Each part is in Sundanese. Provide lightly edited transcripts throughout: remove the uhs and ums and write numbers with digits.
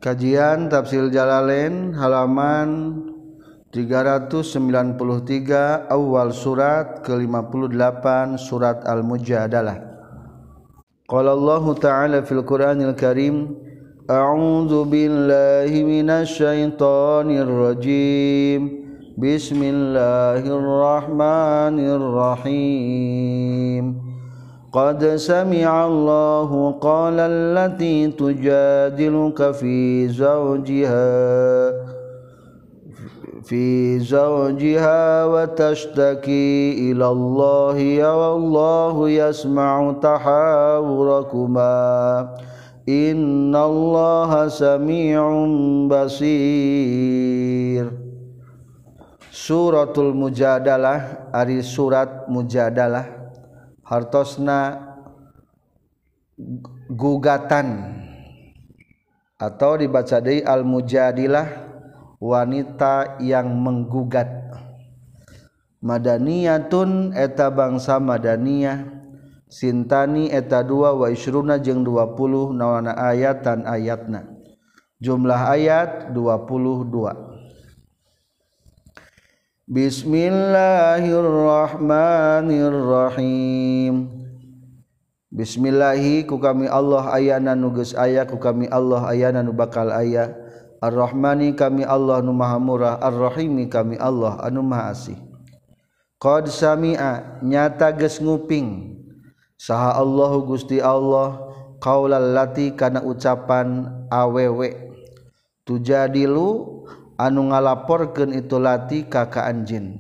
Kajian Tafsir Jalalain halaman 393 awal surat ke-58 surat Al-Mujadalah. Qala Allah Ta'ala fil Qur'anil Karim, A'udzu billahi minasy syaithanir rajim. Bismillahirrahmanirrahim. Qad sami'a Allahu qala allati tujadiluka fi zawjiha wa tashtaki ila Allahi wallahu yasma'u tahawurakuma innallaha sami'un basir. Suratul Mujadalah ari surat Mujadalah hartosna gugatan atau dibaca deui al-mujadilah wanita yang menggugat. Madaniyatun eta bangsa madaniyah, sintani eta 2 wa isruna jeung 20 nawana ayatan ayatna. Jumlah ayat 22. Bismillahirrahmanirrahim. Bismillahi ku kami Allah ayana nu geus aya, ku kami Allah ayana nu bakal aya. Ar-Rahmani kami Allah nu maha murah, Ar-Rahimi kami Allah anu maha asih. Qad sami'a nyata geus nguping saha Allahu Gusti Allah qaulal lati kana ucapan awewe tujadilu anu ngalaporkeun itu lati ka anjeun.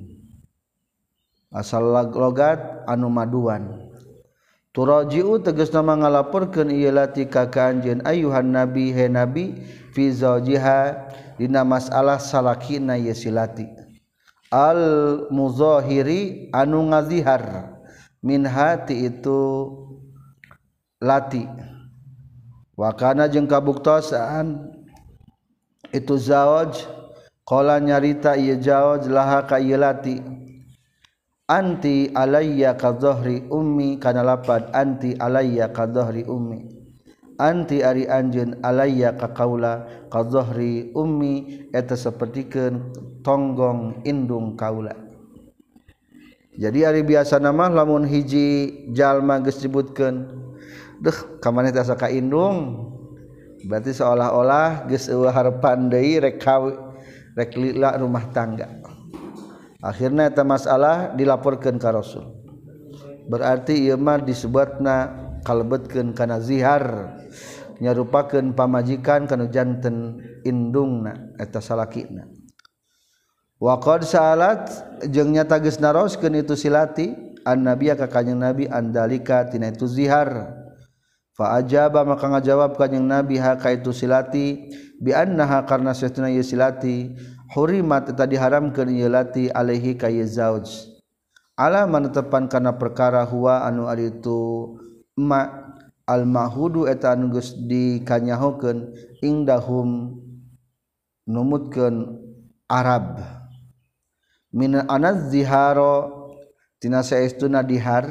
Asal logat anu maduan. Turaji'u tegasna ngalaporkeun ieu lati ka anjeun ayuhan nabi he nabi fi zawjiha dina masalah salakina ye silati. Al muzahiri anu ngazihar min hati itu lati. Wa kana jeung kabuktosan itu zawj qala nyarita ieu zawj laha ka ieu lati anti alayya ka dhahri ummi kana lapad anti alayya ka dhahri ummi anti ari anjeun alayya ka kaula ka dhahri ummi eta sapertikeun tonggong indung kaula. Jadi ari biasa mah lamun hiji jalma geus disebutkeun deuh ka maneh teh asa ka indung berarti seolah-olah geus eueuh harepan deui rek lila rumah tangga. Akhirna eta masalah dilaporkeun ka Rasul. Berarti ieu mah disebutna kalebetkeun kana zihar, nyarupakeun pamajikan kana janten indungna eta salakina. Wa qad sa'alat jeung nyata geus naroskeun itu silati an-nabiy ka kanjing nabi andalika tina itu zihar. Fa ajaba maka ngajawab kanjing nabi ha ka itu silati bi annaha karna satuna ieu silati hurimat eta diharamkeun ieu lati alaihi ka ieu zauj ala manetepan kana perkara huwa anu ari itu ma al mahudu eta anu geus dikanyahokeun indahum numutkeun Arab min anaz ziharo tina saestuna dihar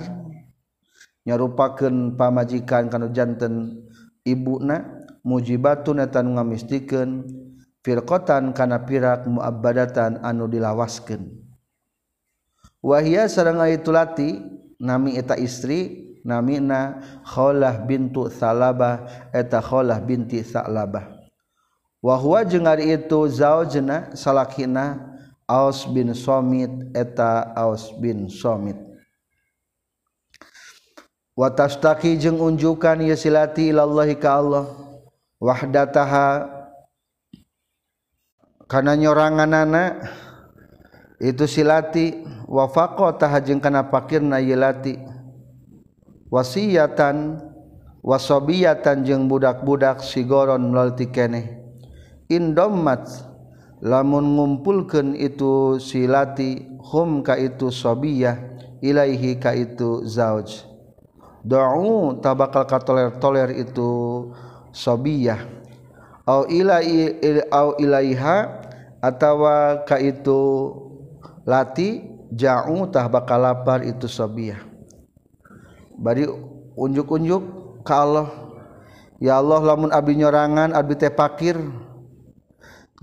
nyarupakeun pamajikan kana janten ibuna mujibatun eta nu ngamistikeun firqatan kana pirak muabbadatan anu dilawaskeun. Wahia sareng itu lati nami eta istri namina Khawlah bintu Salabah eta Khawlah binti Salabah. Wa huwa jeung ari itu zaujna salakina Aus bin Somit eta Aus bin Somit. Wa tashtaki jeung unjukan ieu silati ilallahi ka Allah wahdataha kana nyoranganana itu silati wa faqataha jeung kana pakirna ieu lati wasiyatan wasobiyatan jeung budak-budak sigoron lalti keneh indommat lamun ngumpulkeun itu silati hum ka itu sobiyah ilaihi ka itu zauj da'u tabakal katoler-toler itu sobiyah au ilaiha atawa ka itu lati ja'u tah bakal lapar itu sobiyah. Bari unjuk-unjuk ka Allah, ya Allah lamun abdi nyorangan abdi teh pakir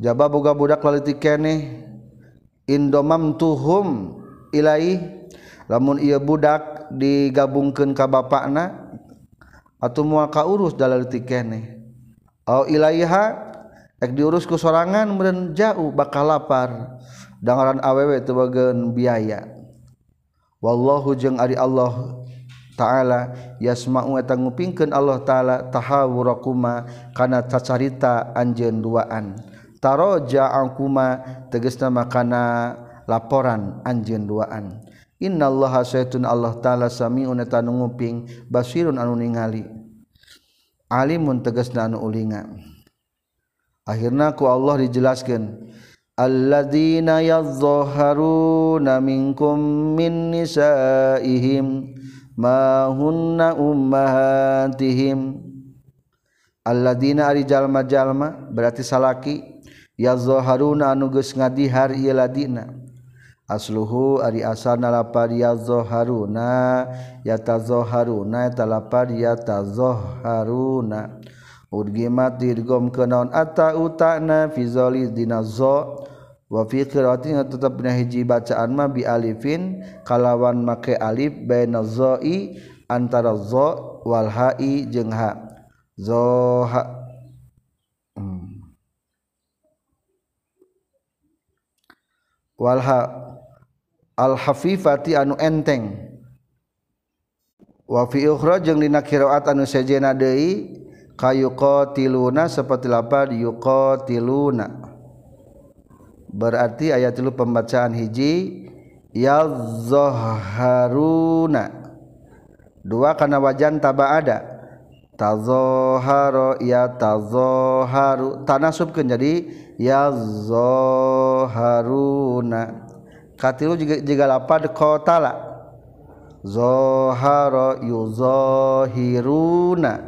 jaba boga budak laliti keneh indomamtuhum ilaih lamun ieu budak digabungkeun ka bapakna atuh moal kaurus da laliti keneh au ilaiha ek diurus ku sorangan meureun jauh bakal lapar dangaran awewe teu bageun biaya wallahu jeung ari Allah taala yasma'u eta ngupingkeun Allah taala tahawurakuma kana cacarita anjeun duaan taroja'akuma tegasna makana laporan anjeun duaan innallaha sayyidun Allah taala sami'un eta nu nguping basirun anu ningali alimun tegasna anu ulinga akhirna ku Allah dijelaskeun alladzina yadhharuna minkum min nisaihim ma hunna ummahatihim alladzina ari jalma-jalma berarti salaki yadhharuna anu geus ngadihar ieu ladina asluhu ari asalna lapad yadhharuna yatazahharuna eta lapad yatazahharuna udgimat dirgom kenaon ata utana fi zali dina za wa fi qiraatin tetep dina hiji bacaan mah bi alifin kalawan make alif baina zai antara za wal hai jeung ha zoha wal ha al hafifati anu enteng wa fi ukhra jeung dina qiraat anu sejena deui kayuqatiluna saperti lapad yuqatiluna berarti ayat itu pembacaan hiji yazahharuna dua kana wajan tabaada tazahhara ya tazahharu tanasubkeun jadi yazahharuna katilu jiga lapad qatala zahara yuzahiruna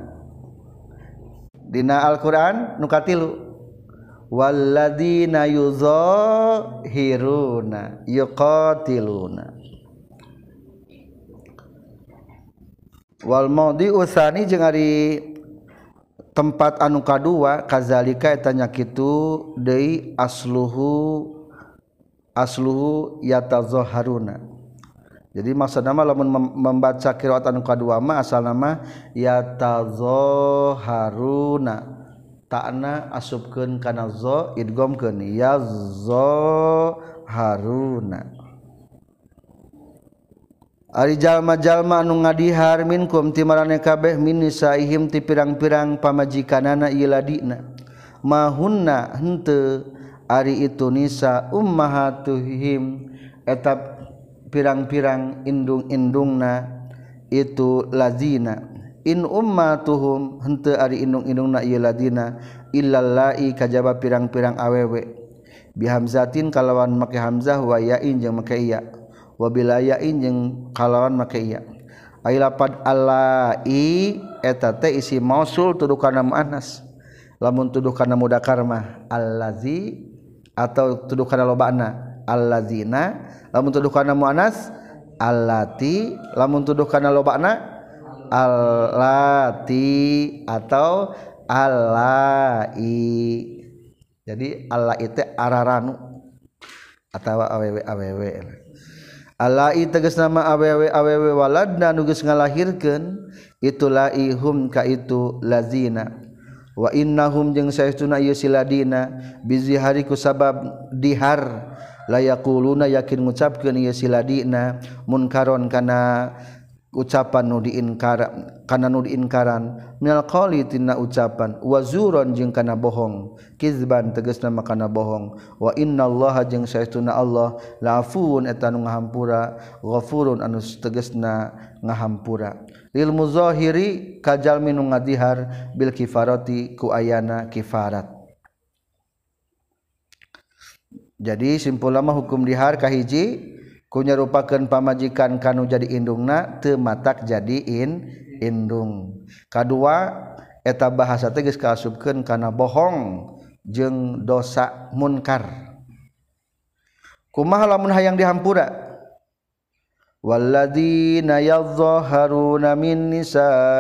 dina Al-Qur'an nu katilu walladzina yuzahiruna yuqatiluna wal maudhi'u tsani jeung ari tempat anu kadua kazalika eta nya kitu deui asluhu yatazahharuna jadi maksudna mah lamun membaca qiraat anu kadua mah asalna mah yatazahharuna ta'na asupkeun kana za idghamkeun yazahharuna ari jalma-jalma anu ngadihar minkum ti marane kabeh min nisaihim ti pirang-pirang pamajikanana ieu ladina mahunna henteu ari itu nisa ummahatuhim eta pirang-pirang indung-indungna itu lazina in ummatuhum henteu ari indung-indungna ieu ladina illallai kajaba pirang-pirang awewe bihamzatin kalawan make hamzah wa yain jeung make ya wa bilayain jeung kalawan make ya ai lapad allai eta teh isi mausul tuduh kana muannas lamun tuduh kana mudzakkar mah allazi atau tuduh kana lobana allazina lamun tuduh kana muannas allati lamun tuduh kana lobana allati atau allai jadi allai teh araranu atawa awewe allai tegas nama awewe waladna nu geus ngalahirkeun itu laihum ka itu lazina wa innahum jeung saestuna ieu siladina bizihari ku sabab dihar la yaquluna yakin ngucapkeun ieu siladina munkaron kana ucapan nu diinkaran minal qauli tina ucapan wa zuron jeung kana bohong kizban tegasna makana bohong wa innallaha jeung saestuna Allah la'afuun eta nu ngahampura ghafurun anu tegasna ngahampura lil muzahiri kajalmi nu ngadihar bil kifarati ku ayana kifarat jadi simpulna mah hukum dihar kahiji kunya rupakeun pamajikan kanu jadi indungna teu matak jadi indung kadua eta bahasa teh geus kaasupkeun kana bohong jeung dosa munkar kumaha lamun hayang dihampura walladzina yadhharuna min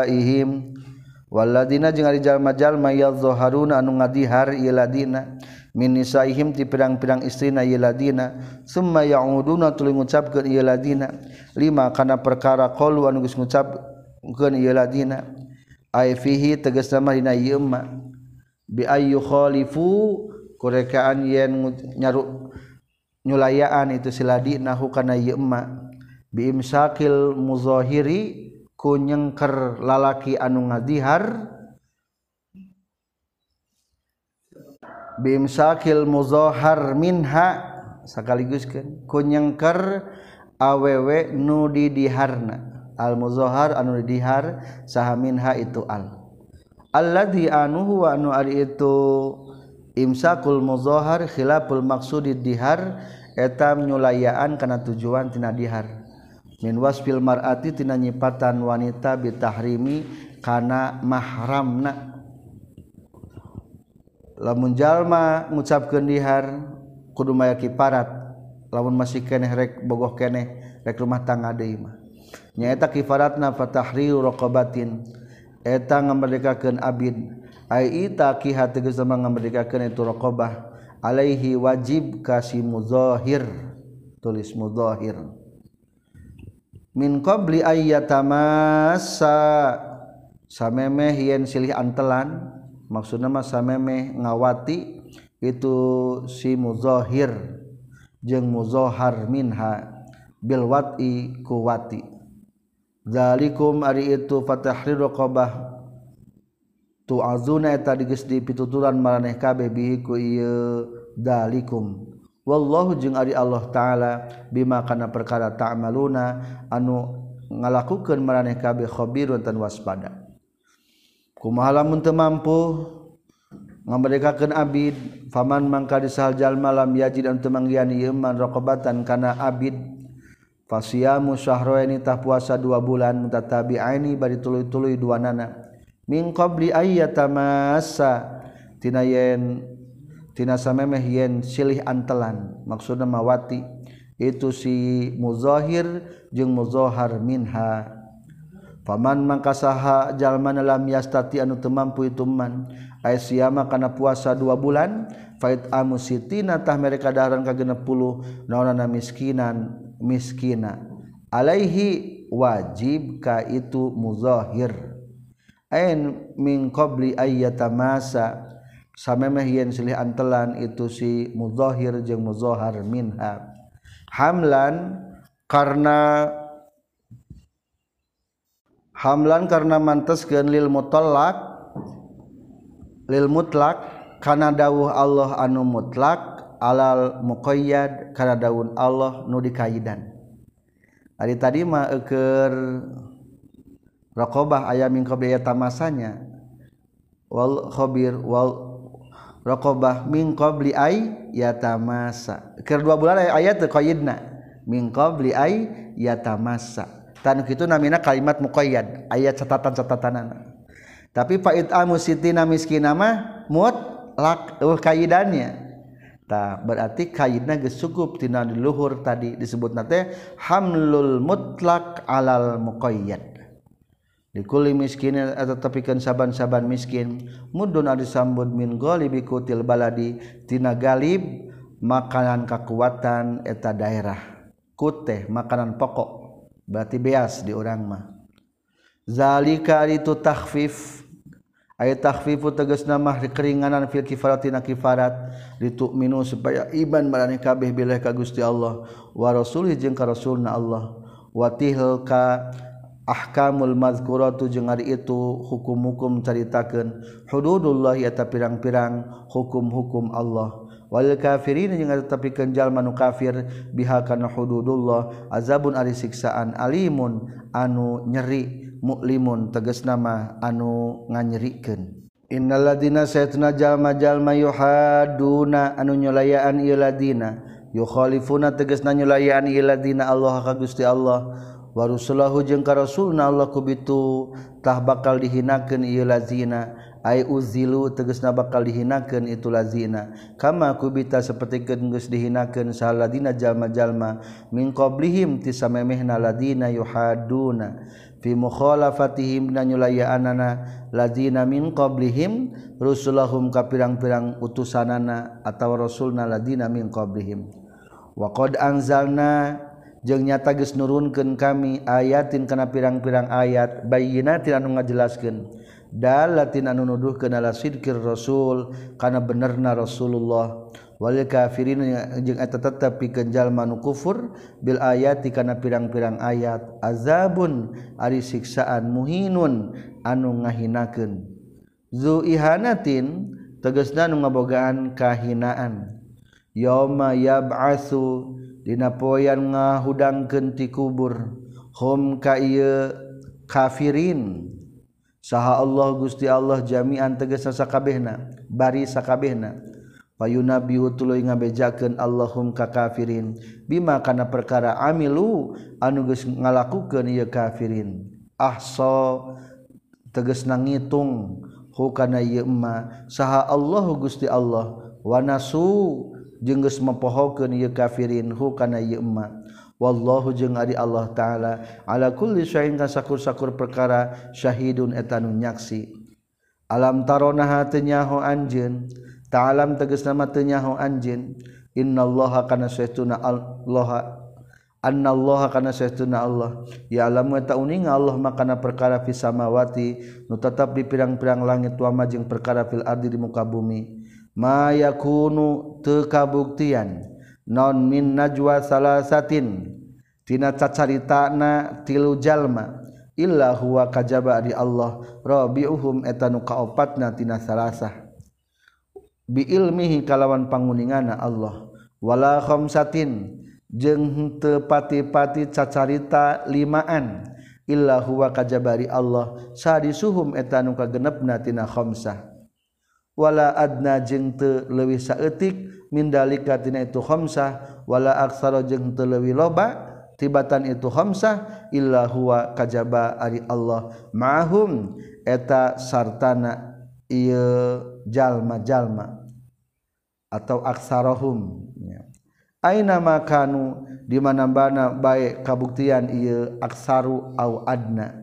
nisaihim walladzina jeung ari jalma-jalma yadhharuna anu ngadihar ieu ladina min nisaihim ti pirang-pirang istrina ieu ladina summa ya'uduna tuluy ngucapkeun ieu ladina lima kana perkara qalu anu geus ngucapkeun ieu ladina ai fihi tegasna mah dina ieu ma bi ayyu khalifu kurekaan yen nyaru nyulayaan itu siladina hu kana ieu ma bi imsakil muzahiri ku nyengker lalaki anu ngadihar bi imsakil muzahar minha sakaliguskeun ku nyengker awewe nu didiharna al muzahar anu didihar saha minha itu alladzi anu huwa anu ari itu imsakul muzahar khilaful maqsudid dihar eta nyulayaan kana tujuan tina dihar min wasfil mar'ati tina nyipatan wanita bitahrimi kana mahramna lamun jalma ngucapkeun dihar kudu maya kifarat lamun masih keneh rek bogoh keneh rek rumah tangga deui mah nyaeta kifaratna fatahriru raqabatin eta ngamerdekakeun abid ai ita kiha tegas ngamerdekakeun itu raqabah alaihi wajib kasi muzahir tulis muzahir min qabli ayyatamassa samemeh yen silih antelan maksudna mah samemeh ngawati itu si muzahir jeung muzahar minha bil wat'i kuwati zalikum ari itu fatahrir raqabah tu'azuna eta digeus dipituturan maraneh kabeh bihi ku ieu dalikum wallahu jeung ari Allah taala bima kana perkara ta'maluna anu ngalakukeun maraneh kabeh khabirun tan waspada kumaha lamun teu mampu ngamerdekakeun abid faman mangka disahal jalma lam yajid anu teu manggian ieu man raqabatan kana abid fasiyamu syahraini tah puasa 2 bulan mutatabi'aini bari tuluy-tuluy duanana min qabli ayyatamassa tina samemeh yen silih antelan maksudna mawati itu si muzahir jeung muzahar minha faman mangkasaha jalmana lam yastati anu teu mampu itu man ay siyama kana puasa 2 bulan fait amusitina tah mereka daharan ka 60 naonana miskina alaihi wajib ka itu muzahir ain min qabli ayyatamassa samemeh yen silih antelan itu si muzahir jeung muzahar minha hamlan karena manteskeun lil mutlaq kana dawuh Allah anu mutlak alal muqayyad kana dawuh Allah nu dikaidan ari tadi mah keur raqabah aya min qabli ayatamasanya wal khabir wal raqabah min qabli ay yatamassa keur 2 bulan ayat teu qayyidna min qabli ay yatamassa tan kitu namina kalimat muqayyad ayat catatan-catatanana tapi faid amusitina miskina mah mutlak qayyidannya tah berarti qayyidna geus cukup tina di luhur tadi disebutna teh hamlul mutlak alal muqayyad likulli miskinin atatapikeun saban-saban miskin mudun ari sambut min ghalibi kutil baladi tina galib makanan kakuatan eta daerah kuteh makanan pokok berarti beas di urang mah zalika itu takhfif aya takhfifu tegasna mah keringanan fil kifaratina kifarat litu'minu supaya iman maraneh kabeh bilih ka Gusti Allah wa rasulih jeung ka rasulna Allah wa tilka ahkamul mazkuratu jeung ari itu hukum-hukum caritakeun hududullah eta pirang-pirang hukum-hukum Allah wal kafirin jeung tetepikeun jalma nu kafir biha kana hududullah azabun ari siksaan alimun anu nyeri muklimun tegasna mah anu nganyerikeun innal ladina saytuna jalma-jalma yuhaduna anu nyulayaan ieu ladina yukhalifuna tegasna nyulayaan ieu ladina Allah ka Gusti Allah wa rusulahu jeung ka rasulna Allah kubitu tah bakal dihinakeun ieu lazina ay uzilu tegasna bakal dihinakeun itu lazina kama kubita sapertikeun geus dihinakeun saladina jalma-jalma min qablihim ti samemehna ladina yuhaduna fi mukhalafatihim dan nyulayaanana ladina min qablihim rusulahum ka pirang-pirang utusanana atawa rasulna ladina min qablihim wa qad anzalna jeung nyata geus nurunkeun kami ayatin kana pirang-pirang ayat bayyinatin anu ngajelaskeun dalatin anu nuduhkeun ala sidqir rasul kana benerna Rasulullah wal kafirin jeung eta tetep pikeun jalma nu kufur bil ayati kana pirang-pirang ayat azabun ari siksaan muhinun anu ngahinakeun zu ihanatin tegasna nu ngabogaan kahinaan yauma yab'atsu dina poean ngahudangkeun ti kubur hum ka ieu kafirin saha Allah Gusti Allah jami'an tegasna sakabehna bari sakabehna payunabihu tuluy ngabejakeun Allahum ka kafirin bima kana perkara amilu anu geus ngalakukeun ieu kafirin ahsa tegasna ngitung hu kana ieu emma saha Allah Gusti Allah wa nasu jeung geus mempohokeun ieu kafirin hu kana ieu emma wallahu jeung ari Allah taala ala kulli syai'in kasakur-sakur perkara syahidun eta nu nyaksi alam taronaha teu nyaho anjeun ta'alam tegasna mah teu nyaho anjeun innallaha kana saestuna Allah annallaha kana saestuna Allah ya alam eta uning Allah makana perkara fis samawati nu tetep di pirang-pirang langit wa ma jeung perkara fil ardi di muka bumi ma yakunu teu kabuktian non min najwa salasatin tina cacaritana tilu jalma illa huwa kajaba di Allah rabiuhum eta nu kaopatna tina salasah bi ilmihi kalawan panguningana Allah wala khamsatin jeung teu pati-pati cacarita limaan illa huwa kajaba di Allah sadisuhum eta nu kagenepna tina khamsah wala adna jeung teu leuwih saeutik min dalika tina itu khamsah wala aksara jeung teu leuwih loba tibatan itu khamsah illa huwa kajaba ari Allah ma'hum eta sartana ieu jalma-jalma atau aksarahum aina makanu di mana-mana bae kabuktian ieu aksaru au adna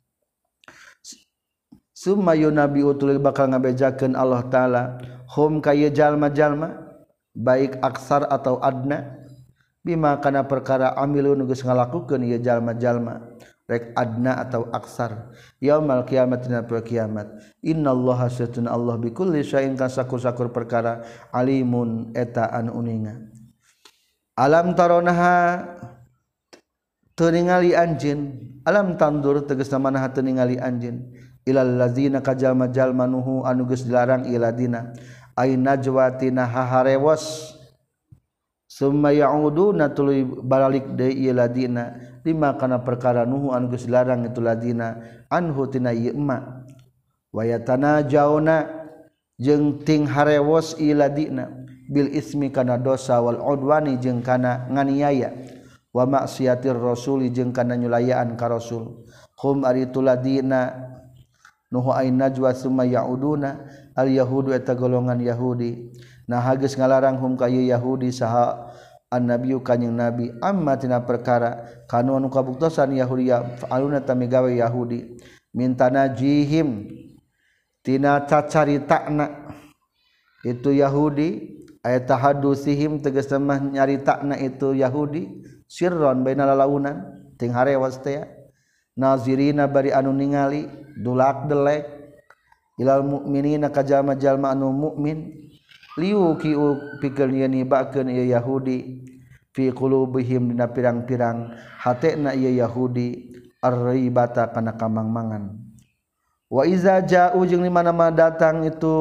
summa yunabi utul bakal ngabejakeun Allah taala hum kaya jalma-jalma baik aksar atau adna bima kana perkara amilu nu geus ngalakukeun ieu jalma-jalma rek adna atau aksar yaumul kiamat dina poe kiamat innallaha satuna Allah bikulli syai'in kasakur-sakur perkara alimun eta anu uninga alam taronaha teu ningali anjeun alam tandur tegasna manaha teu ningali anjeun ilal ladzina kajalma-jalma nuhu anu geus dilarang iladina ay najwatina haharewos summa ya'uduna tuluy balik deui ieu ladina lima kana perkara nuhu anu geus dilarang itu ladina anhu tina ieu emma wa yatanajawna jeung ting harewos ieu ladina bil ismi kana dosa wal udwani jeung kana nganiaya wa maksiatir rasuli jeung kana nyulayaan ka rasul hum ari tu ladina nuhu ay najwa summa ya'uduna al yahudu eta golongan Yahudi nah geus ngalarang hum ka Yahudi saha annabiyyu kanjing nabi amma tina perkara kanu anu kabuktosan Yahudi aluna tamigawe Yahudi mintana jihim tina cacaritana itu Yahudi aya tahadusihim tegasna mah nyaritakna itu Yahudi sirron baina lalaunan ting harewas teh nazirina bari anu ningali dulak delek ilal mukminina ka jalma-jalma anu mukmin liuki pikeun ieu nibakeun ieu Yahudi fi qulubihim dina pirang-pirang hatena ieu Yahudi ar-ribata kana kamangmangan wa iza ja'u jeung di mana-mana datang itu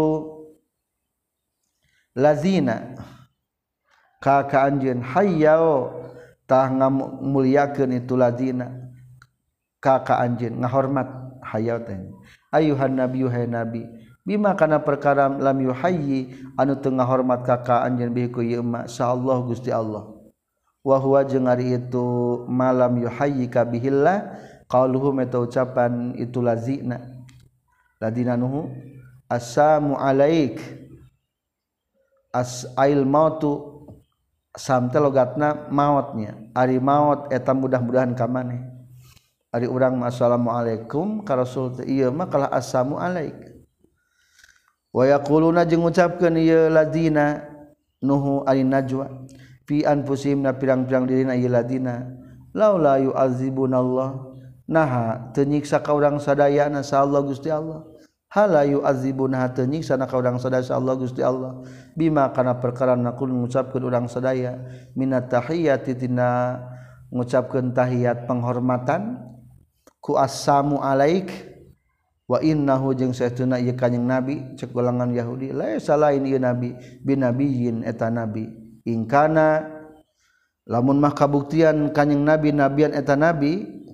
lazina ka anjeun hayyao tah ngamuliakeun itu lazina ka anjeun ngahormat hayyao teh ayuhan nabiyyu hay nabi bima kana perkara lam yuhayyi anu teu ngahormat ka anjeun bihi ku ieu ma saallahu Gusti Allah wa huwa jeung ari itu malam yuhayyi ka bihillah qauluhum eta ucapan itu lazina ladina nuhu Assalamu alaik ail mautu samte logatna mautnya ari maut eta mudah-mudahan ka maneh ari urang assalamualaikum ka rasul teh ieu mah kalah assalamu alaik wa yaquluna jeung ngucapkeun ieu ladina nuhu ari najwa fi anfusihim na pirang-pirang dirina ieu ladina laula yu'adzibunallah naha teu nyiksa ka urang sadayana sa Allah Gusti Allah hala yu'adzibuna teu nyiksa ka urang sadaya sa Allah Gusti Allah bima kana perkara nakul ngucapkeun urang sadaya minat tahiyati tina ngucapkeun tahiyat penghormatan ku assalamu alaik wa innahu jeung saestuna ieu kanjing nabi cek golongan Yahudi laisa lain ieu nabi binabiyyin eta nabi ingkana lamun mah kabuktian kanjing nabi nabian eta nabi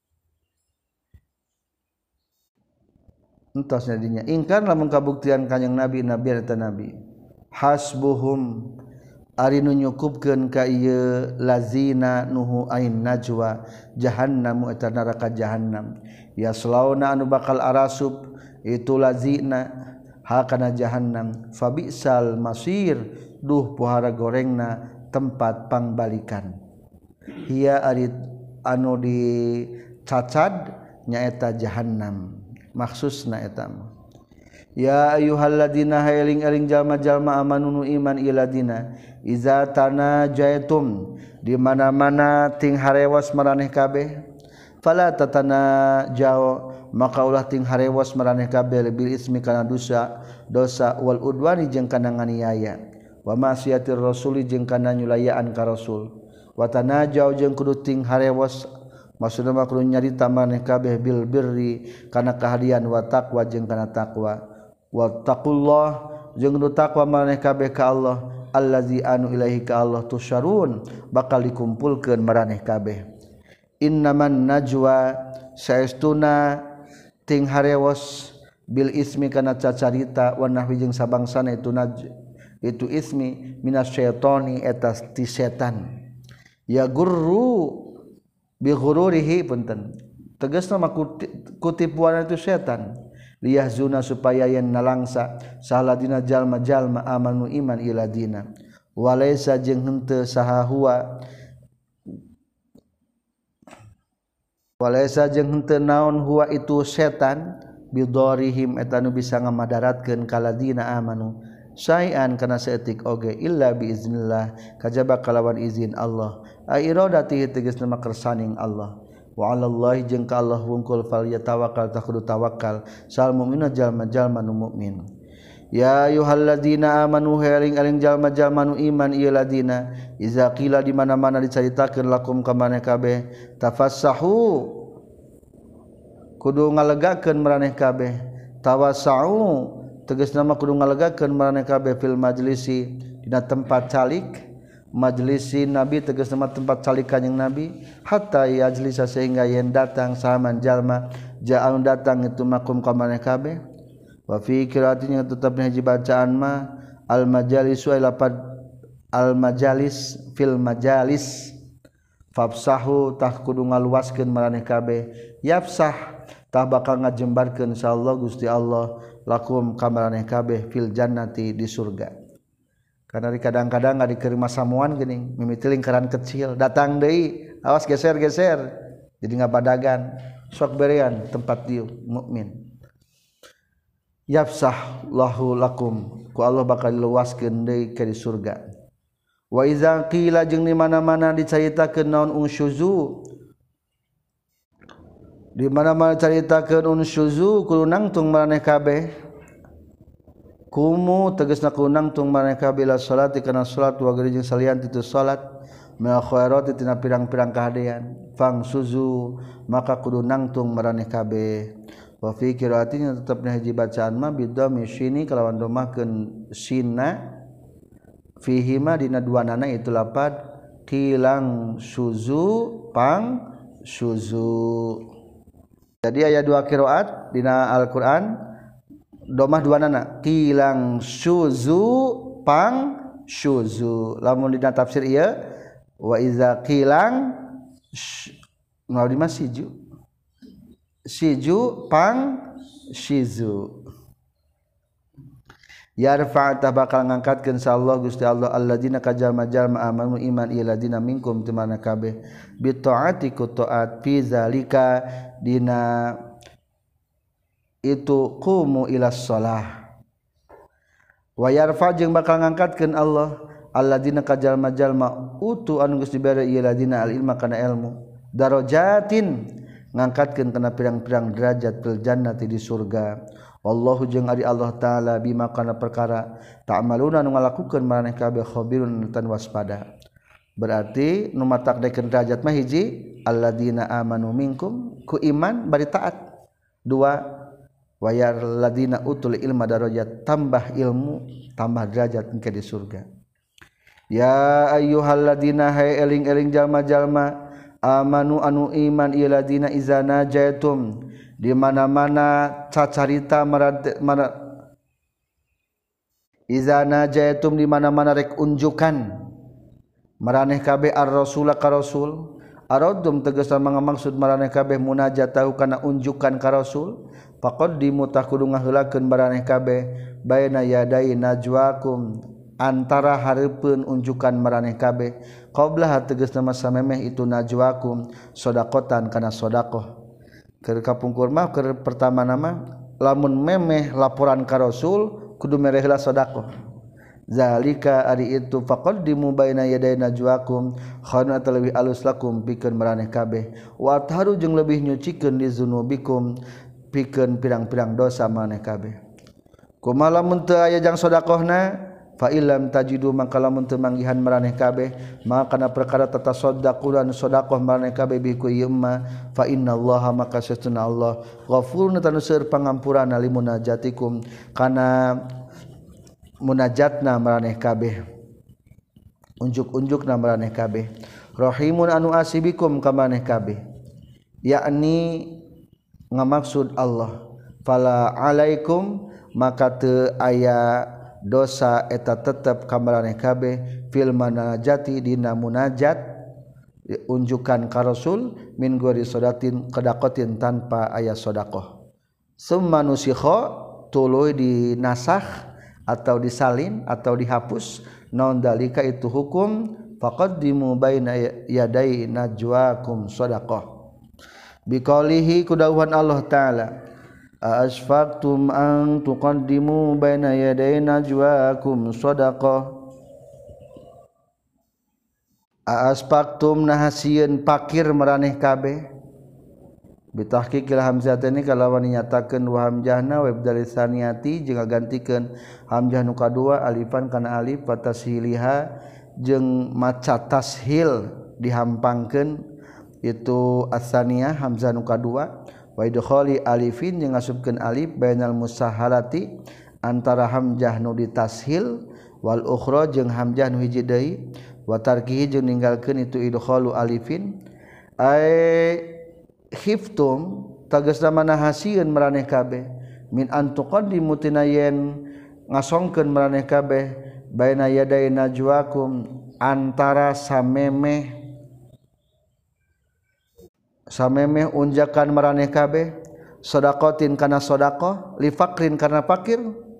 entosnya dinya ingkar lamun kabuktian kanjing nabi nabian eta nabi hasbuhum ari nu nyukupkeun ka ieu lazina nuhu ain najwa jahannam eta neraka jahannam yaslauna anu bakal arasub itu lazina hakana jahannam fabisal masir duh pohara gorengna tempat pangbalikan hiya ari anu dicacad nyaeta jahannam maksusna eta ya ayyuhalladzina hayaling-eling jalma-jalma amanu nu iman iladina iza tanajaitum di mana-mana ting harewas maraneh kabeh fala tatanajau maka ulah ting harewas maraneh kabeh bil ismi kana dosa wal udwani jeung kana nganiaya wa ma'siyatir rasuli jeung kana nyulayaan ka rasul wa tanajau jeung kudu ting harewas maksudna mah kudu nyarita maneh kabeh bil birri kana kahadian wa taqwa jeung kana taqwa wattaqullah jeung nu taqwa maneh kabeh ka Allah allazi anu ilaihi ka Allah tusyarun bakal dikumpulkeun maraneh kabeh innaman najwa saestuna ting harewas bil ismi kana cacarita wa nahwi jeung sabangsana itu ismi minasyaitani eta ti setan ya gurru bi ghururihi punten tegasna mah kutipuan itu setan liyahzuna supaya yen nalangsa saladina jalma-jalma amanu iman iladina walaysa jeung henteu saha huwa walaysa jeung henteu naon huwa itu setan bidorihim eta nu bisa ngamadaratkeun kaladina amanu sayan kana saeutik oge illa biiznillah kajaba kalawan izin Allah airadati tegasna makersaning Allah wa 'alallahi jeung ka Allah wungkul fal yatawakkal takudu tawakal sal mukminuna jalma-jalma nu mukmin ya ayyuhalladzina amanu haring-aring jalma-jalma nu iman ieu ladina iza qila di mana-mana dicaritakeun lakum ka maneh kabeh tafassahu kudu ngalegakeun maraneh kabeh tawassau tegasna mah kudu ngalegakeun maraneh kabeh fil majlisi dina tempat calik majlisi nabi tegasna mah tempat calik kanjing nabi hatta yajlisa sehingga yen datang sahaman jalma ja'al datang itu makum ka maneh kabeh wa fi qira'atinya tetepna hiji bacaan mah al majalisu ay lapad al majalis fil majalis fafsahu tah kudu ngaluaskeun maraneh kabeh yafsah tah bakal ngajembarkeun insyaallah Gusti Allah lakum kamaraneh kabeh fil jannati di surga karena kadang-kadang nggak dikeri masamuan geuning mimiti lingkaran kecil datang deui awas geser-geser jadi ngabadagan sok berean tempat dieu mukmin yafsah lahu lakum ku Allah bakal luaskeun deui ka di surga wa iza qila jeung di mana-mana dicaritakeun naon unsyuzu di mana-mana caritakeun unsyuzu kudu nangtung maraneh kabeh kumu tegasna kudu nangtung maraneh kabeh la salati kana salat wa gari jeung salian itu salat mil khairati tina pirang-pirang kahadean fang suzu maka kudu nangtung maraneh kabeh wa fi qira'atinya tetepna hiji bacaan mah bidhammi syini kalawan domahkeun sinna fihi ma dina duanana itu lapad kilang suzu pang suzu. Jadi aya dua qiraat dina Al-Qur'an domah duanana kilang suzu pang suzu. Lamun dina tafsir ieu wa iza kilang mau di siju pang shizu yarfa tah bakal ngangkatkeun sallallahu Gusti Allah alladzina kajalma-jalma amanu iman iladina minkum teu mana kabeh bi taati ku taat fi zalika dina itu qumu ilas shalah wa yarfa jeung bakal ngangkatkeun Allah alladzina kajalma-jalma utu anu geus dibere iladina al ilma kana ilmu darajatin ngangkatkeun kana pirang-pirang derajat fil jannati di surga. Wallahu jeung ari Allah taala bima kana perkara ta'maluna nu ngalakukeun maraneh kabeh khabirun tan waspada. Berarti nu matakdekeun derajat mah hiji alladzina amanu minkum ku iman bari taat. Dua wayar ladina utul ilma darajat tambah ilmu tambah derajat engke di surga. Ya ayyuhalladzina hay eling-eling jalma-jalma amanu anu iman iladina izana jaitum di mana-mana cacarita izana jaitum di mana-mana rek unjukan maraneh kabeh ar-rasul ka rasul aradum tegasna maksud maraneh kabeh munajat tahu kana unjukan ka rasul faqaddimu takudu ngaheulakeun maraneh kabeh baina yaday najwakum antara hareupeun unjukan maraneh kabeh qabla tegasna masa memeh itu najwakum sedaqatan kana sedaqah keur kapungkur mah keur pertama nama lamun memeh laporan ka rasul kudu mere heula sedaqah zalika ari itu faqaddimu baina yaday najwakum khana talwi alus lakum pikeun maraneh kabeh wa taharu jeung leuwih nyucikeun di zunubikum pikeun pirang-pirang dosa maraneh kabeh kumaha lamun teu aya jang sedaqahna fa illam tajidu maka lamun teu manggihan maraneh kabeh maka kana perkara tatasaddaqun sedaqah maraneh kabeh bi ku ieu ma fa innallaha maka sesuna Allah ghafurun tanu seueur pangampuranna limunajatikum kana munajatna maraneh kabeh unjuk-unjukna maraneh kabeh rahimun anu asibikum ka maraneh kabeh yakni ngamaksud Allah fala alaikum maka teu aya dosa eta tetep ka maraneh kabeh fil munajati dina munajat unjukan ka rasul min ghairi sodatin kedaqatin tanpa aya sedaqah summa nusikha tuluy dinasakh atau disalin atau dihapus naon dalika itu hukum faqaddimu baina yaday najwakum sadaqah biqaulihi kudauhan Allah taala asfaqtum an tuqaddimu baina yaday najwaakum sadaqah asfaqtum nahasieun pakir maraneh kabeh bitahqiqil hamzatani kalawan nyatakeun wa hamzahna wa ibdal saniyati jeung gantikeun hamzah nu kadua alifan kana alif fatashiliha jeung maca tashil dihampangkeun itu as-saniyah hamzah nu kadua wa idkhali alifin jeung ngasupkeun alif bainal musahalati antara hamzah nu ditashil wal ukhra jeung hamzah nu hiji deui wa tarkihi jeung ninggalkeun itu idkhalu alifin ay khiftum tagasna manahasieun maraneh kabeh min antuqaddimu tinayen ngasongkeun maraneh kabeh baina yaday najwakum antara samemeh unjakan maraneh kabeh sedaqatin kana sedaqah li faqrin kana fakir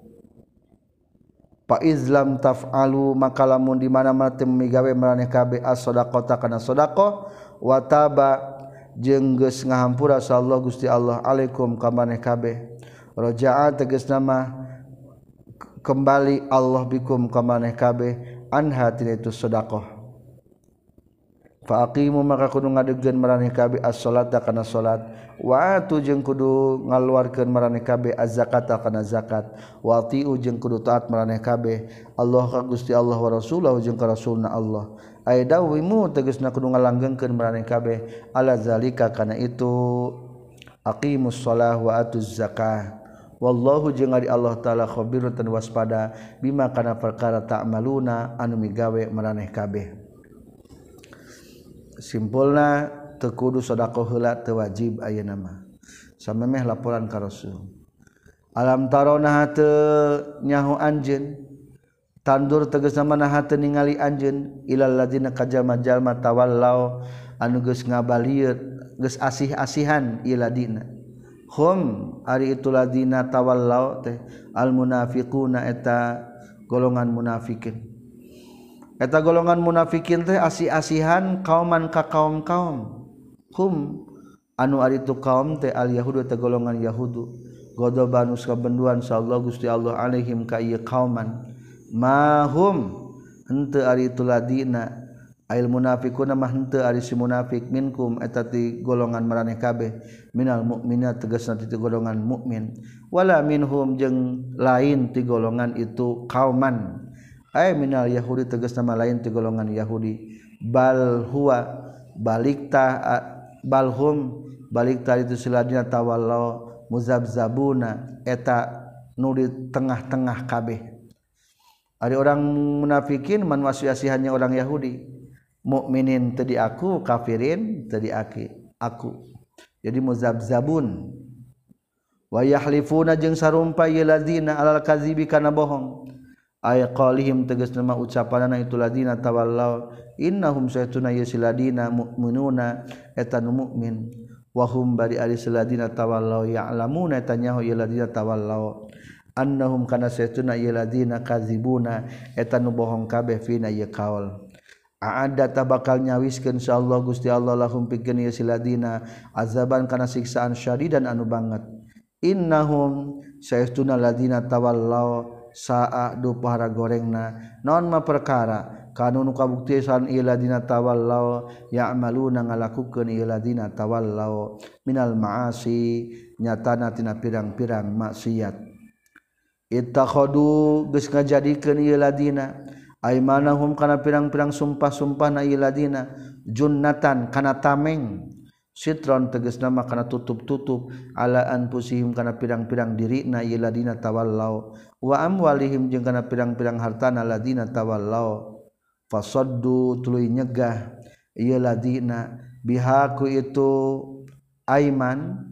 fa izlam taf'alu maka lamun di mana-mana teu migawe maraneh kabeh as-sadaqata kana sedaqah wa taba jeung geus ngahampura sallallahu Gusti Allah alaikum ka maneh kabeh raja'a tegasna mah kembali Allah bikum ka maneh kabeh anha tina itu sedaqah fa aqimu maka kudu ngadegkeun maraneh kabeh as-sholata kana salat wa atu jeung kudu ngaluarkeun maraneh kabeh az-zakata kana zakat wa ati'u jeung kudu taat maraneh kabeh Allah ka Gusti Allah wa rasulahu jeung ka rasulna Allah aidawimu tegasna kudu ngalanggengkeun maraneh kabeh ala zalika kana itu aqimus shalah wa atuz zakah wallahu jeung ari Allah taala khabirun tan waspada bima kana perkara ta'maluna anu migawe maraneh kabeh simpulna teu kudu sedekah heula teu wajib ayeuna mah samemeh laporan ka rasul alam tarona teu nyaho anjeun tandur tegasna manaha teu ningali anjeun ilal ladzina kajalma-jalma tawallau anu geus ngabalieur geus asih-asihan ieu ladina hum ari itu ladina tawallau teh al munafiquna eta golongan munafikin. Eta golongan munafikin teh asih-asihan kauman ka kaum-kaum. Hum anu ari tu kaum teh al yahudu teh golongan yahudu. Godobanus kabenduan sallallahu Gusti Allah alaihim ka ieu kauman. Mahum henteu ari tu ladina ail munafiquna mah henteu ari si munafik minkum eta ti golongan maraneh kabeh minal mukminat tegasna ti golongan mukmin wala minhum jeung lain ti golongan itu kauman ay minal yahudi tegasna mah lain ti golongan yahudi bal huwa balikta balhum balikta itu siladina tawallau muzabzabuna eta nu di tengah-tengah kabeh ari orang munafikin man wasiasihannya orang Yahudi mukminin tadi aku kafirin tadi aku jadi muzabzabun wa yahlifuna jeung sarumpa ye ladina alal kadzibi kana bohong ay qalihim tegasna mah ucapanana itu ladina tawallau innahum saytuna yasiladina mu'minuna eta nu mukmin wa hum bari ari saladina tawallau ya'lamuna eta nyaho ye ladina tawallau annahum kana saytuna ye ladina kadzibuna eta nu bohong kabeh fina ye kaul aada bakal nyawiskeun insyaallah Gusti Allah lahum pikeun ieu siladina azaban kana siksaan syadidan anu banget innahum sayastuna ladina tawallau saa du pahara gorengna naon ma perkara kanu nu kabuktian ieu ladina tawallau ya'maluna ngalakukeun ieu ladina tawallau minal ma'asi nyatana tina pirang-pirang maksiat ittakhadu geus ngajadikeun ieu ladina aimanahum kana pirang-pirang sumpah-sumpahna ieu ladina junnatan kana tameng sitron tegasna mah kana tutup-tutup ala anfusihim kana pirang-pirang dirina ieu ladina tawallau wa amwalihim jeung kana pirang-pirang hartana ladina tawallau fasaddu tuluy nyegah ieu ladina biha ku itu aiman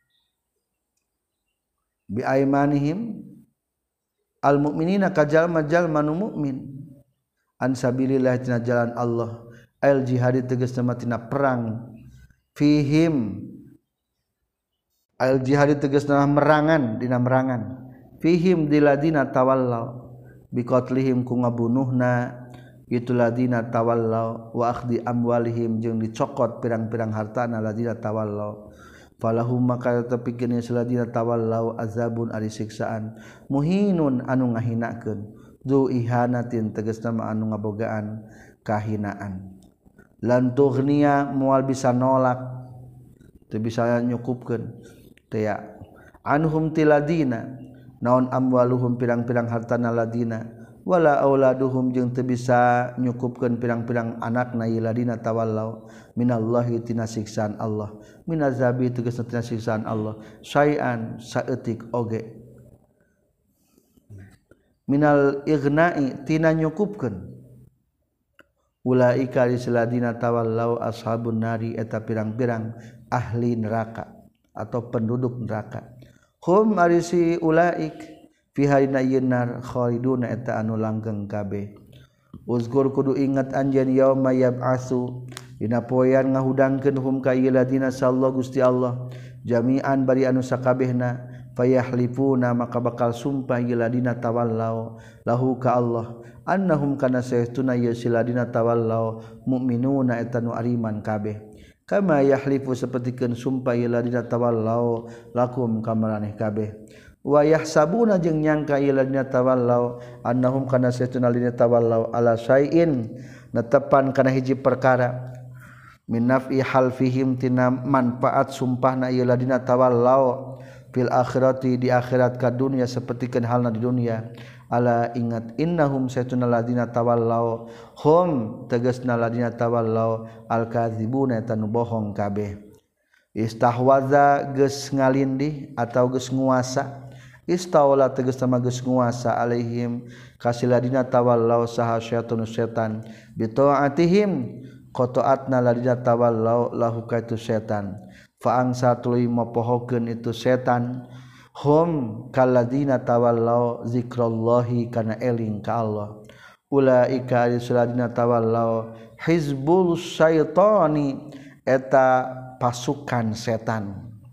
bi aimanihim al mukminina kajalma-jalma nu mukmin an sabilillah tina jalan Allah al jihad tegasna mah tina perang fihim al jihad tegasna merangan dina merangan fihim diladina tawallau biqatlihim ku ngabunuhna itu ladina tawallau wa akhdi amwalihim jeung dicokot pirang-pirang hartana ladina tawallau falahum maka tepikeun ladina tawallau azabun ari siksaan muhinun anu ngahinakeun du ihanatin tegasna mah anu ngabogaan kahinaan lan tughniya moal bisa nolak teu bisa nyukupkeun teu ya anhum tiladina naon amwaluhum pirang-pirang hartana ladina wala auladuhum jeung teu bisa nyukupkeun pirang-pirang anakna ieu ladina tawallau minallahi tina siksaan Allah minazabi tegasna tina siksaan Allah syai'an saeutik oge minal igna'i tina nyukupkeun ulaika ladina tawallau ashabun nari eta pirang-pirang ahli neraka atau penduduk neraka hum arisi ulaik fi harina yenar khaliduna eta anu langgeng kabeh uzkur kudu ingat anjeun yauma yab'atsu dina poean ngahudangkeun hum ka ieu ladina sallallahu Gusti Allah jami'an bari anu sakabehna fayahlifuna maka bakal sumpah ieu ladina tawallau lahu ka Allah annahum kana saytuna ieu ladina tawallau mukminuna eta nu ariman kabeh kama yahlifu sapertikeun sumpah ieu ladina tawallau lakum ka maraneh kabeh wa yahsabuna jeung nyangka ieu ladina tawallau annahum kana saytuna ladina tawallau ala syai'in netepan kana hiji perkara min naf'i halfihim tina manfaat sumpahna ieu ladina tawallau fil akhirati di akhirat ka dunya sapertikeun halna di dunya ala ingat innahum saytuna ladina tawallau hum tegasna ladina tawallau al kadzibuna eta nu bohong kabeh istahwaza geus ngalindih atau geus nguasa istawla tegasna mah geus nguasa alaihim kasiladina tawallau saha syaitan setan bi taatihim qataatna ladina tawallau lahu ka itu setan fa angsa tuluy mopohokeun itu setan hum kalladina tawallau zikrallahi kana eling ka Allah ulaika alisladina tawallau hizbul syaitani eta pasukan setan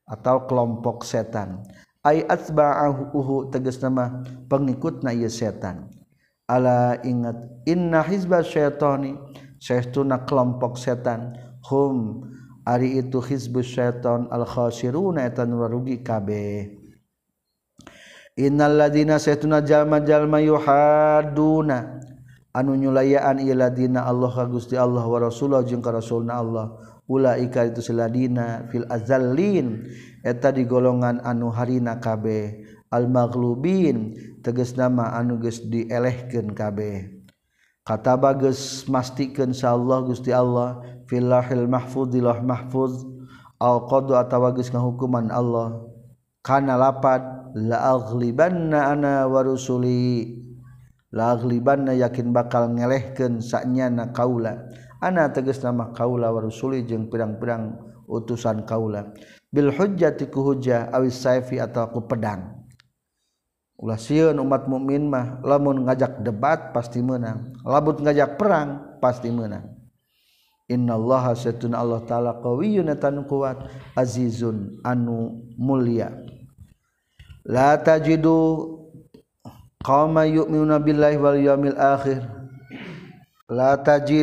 atau kelompok setan ay atba'ahu tegas nama pengikutna ieu setan ala ingat inna hizbas syaitani saestuna kelompok setan hum ari itu hizbus syaitan al khasiruna eta nu rugi kabeh innal ladina saestuna jalma-jalma yuhaduna anu nyulayaan ieu ladina Allah ka Gusti Allah wa Rasulullah jeung ka Rasulna Allah ulaika itu siladina fil azallin eta di golongan anu harina kabeh al maghlubin tegasna mah anu geus dielehkeun kabeh kataba geus mastikeun insyaallah Gusti Allah fil lahil mahfuz di lauh mahfuz al qadu atawa geus ngahukuman Allah kana lapad la aghlibanna ana wa rusuli laglibanna yakin bakal ngelehkeun sanyana kaula ana tegasna mah kaula wa rusuli jeung pirang-pirang utusan kaula bil hujjati ku hujjah awis saifi atawa ku pedang ulah sieun umat mukmin mah lamun ngajak debat pasti menang lamun ngajak perang pasti menang innallaha satuna Allah taala qawiyyun atan kuat azizun anu mulia la tajidu qauma yu'minuna billahi wal yaumil akhir la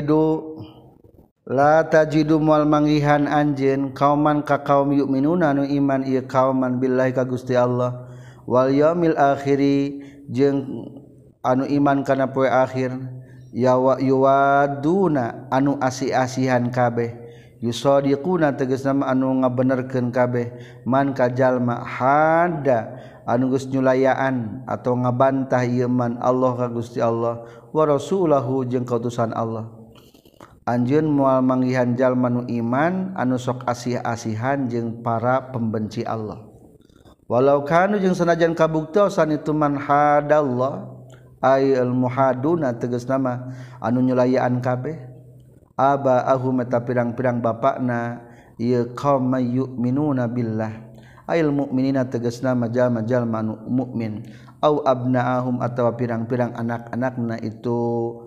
tajidu moal manggihan anjeun kauman ka kaum yu'minuna anu iman ieu kauman billahi ka Gusti Allah wal yaumil akhiri jeung anu iman kana poe akhir yuwaduna anu asi-asihan kabeh yusadiquna tegasna anu ngabenerkeun kabeh man ka jalma hada anu geus nyulayaan atau ngabantah ieu man Allah ka Gusti Allah wa rasulahu jeung kautusan Allah anjeun moal manggihan jalma nu iman anu sok asih-asihan jeung para pembenci Allah walau kanu jeung sanajan kabuktosan itu man hadallah ay al muhaduna tegasna mah anu nyulayaan kabeh aba ahum eta pirang-pirang bapakna ieu qaum yu'minuna billah ayil mukminina tegasna majal-majal manu mukmin au abnaahum atawa pirang-pirang anak-anakna itu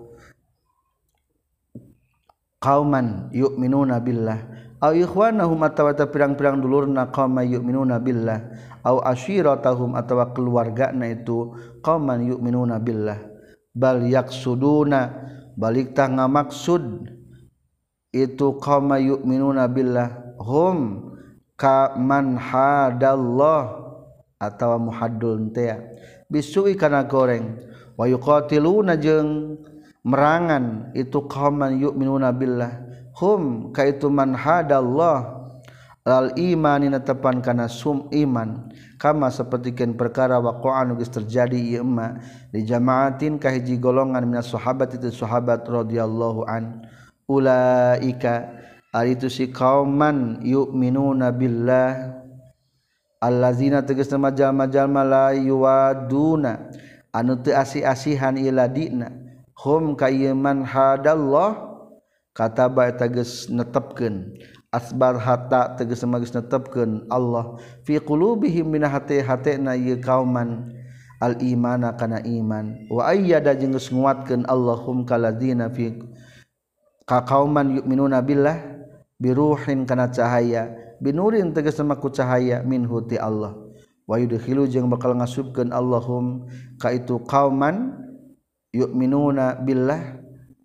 qauman yu'minuna billah au ikhwanahum atawa pirang-pirang dulurna qauman yu'minuna billah au ashiratahum atawa keluargana itu qauman yu'minuna billah bal yaksuduna balik tah ngamaksud itu qauman yu'minuna billah hum ka man hadallah atawa muhaddul teh bisui kana goreng wa yuqatiluna jeung merangan itu qauman yu'minuna billah hum ka itu man hadallah al imanina tepan kana sum iman kama sapertikeun perkara waqa'an geus terjadi ieu emma di jamaatin ka hiji golongan minas sahabat itu sahabat radhiyallahu an ulaika ari itu si kauman yu'minuna billah allazina tegasna jalma-jalma la yuwaduna anu teu asih-asihan ila dina hum ka iman hadallah kataba eta geus netepkeun asbar hatta tegasna geus netepkeun Allah fi qulubihim min hati-hatina ieu kauman al imana kana iman wa ayyada jeung geus nguatkeun Allahum kaladzina fi ka kauman yu'minuna billah biruhin kana cahaya binurin tegasna ku cahaya minhu ti Allah wa yudkhilu jeung bakal ngasupkeun Allahum ka itu qauman yu'minuna billah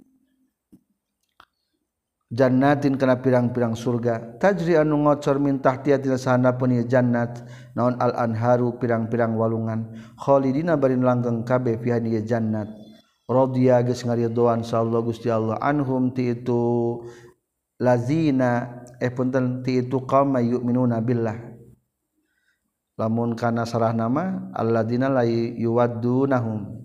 jannatin kana pirang-pirang surga tajri anu ngocor min tahtiha tina sahandapeun ieu jannat naon al anharu pirang-pirang walungan khalidina bari langgeng kabeh fi ieu jannat radhiya geus ngaridoan sallallahu Gusti Allah anhum ti itu lazina punten ti itu qaum yu'minuna billah lamun kana sarah nama alladzina la yuwaddunahum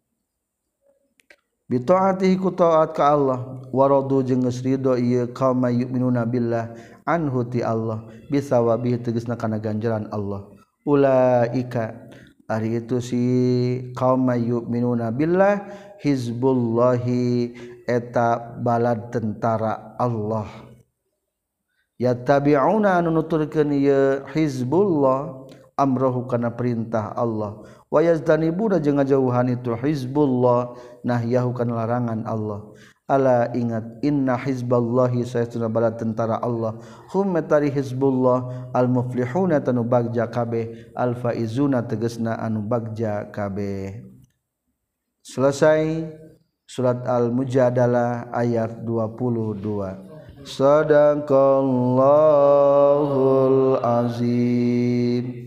bi taatihi ku taat ka Allah wa radu jeung geus ridho ieu qaum yu'minuna billah anhu ti Allah bisawabihi tegasna kana ganjaran Allah ulaika ari itu si qaum yu'minuna billah hizbullahi eta balad tentara Allah yattabi'una anu nuturkeun ieu hizbullah amrahu kana perintah Allah wa yazdanibuna jeung ngajauhan itu hizbullah nahyahu kana larangan Allah Ala ingat inna hizballahi saytuna bala tentara Allah hum metari hizbullah al muflihuna tanu bagja kabeh al faizuna tegasna anu bagja kabeh. Selesai surat Al-Mujadalah ayat 22. Sadaqallahul azim.